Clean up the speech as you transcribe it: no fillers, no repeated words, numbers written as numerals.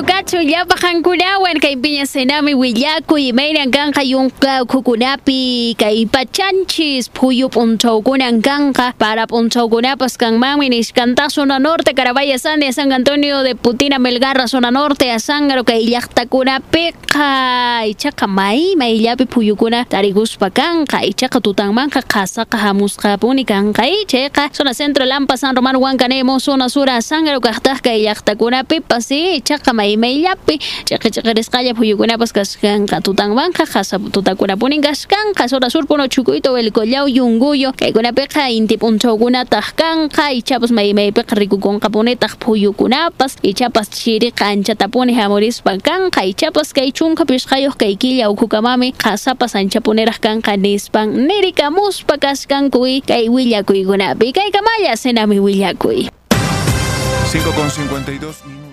Bueno, cacho, ya bajan kunawan, kay piña senami willaku y meiran ganja yung kukunapi, kay pachanchis, puyo punto kunan ganja, para punto kunapas kang mami nishkanta zona norte, Carabaya Sande, San Antonio de Putina, Melgarra, zona norte, a Sangaro, kay yakta kunapiqa, y chaka mai yapi puyo kuna, tarigus pakanga, y chaka tutang manka, kasaka hamuska punikanga, y cheka, zona centro, Lampa, San Román, Huancanemo, zona sura, Sangaro, kajtasca, y yakta kunapipa, sí, chaka mai yapi, chaka rescaya puyo kunapas kaskanka, tutang manka, kasa tutakuna puningaskanka, zona sur puno chukuito, el collao yunguyo, kay kunapiqa, inti punto kuna tajkanka, y chapas mai peqa riku con caponetas puyo kunapas, y chapas chiri cancha tapone jamoris pankanka, y chapas kay chunka piscayos kay quilla o kukamami, kasapas anchaponeras kanka nispan, nerika muspa kaskankuy, kay willakuy kunapi, kay kamaya senami willakuy. 5:52 minutos.